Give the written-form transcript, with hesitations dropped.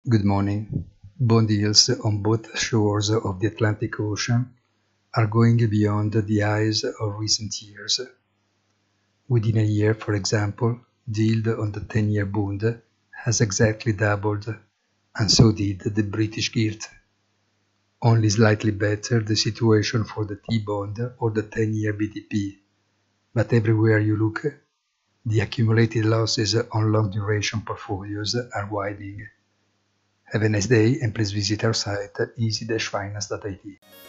Good morning. Bond yields on both shores of the Atlantic Ocean are going beyond the highs of recent years. Within a year, for example, the yield on the 10-year Bund has exactly doubled, and so did the British gilt. Only slightly better the situation for the T-bond or the 10-year BTP, but everywhere you look, the accumulated losses on long-duration portfolios are widening. Have a nice day and please visit our site easy-finance.it.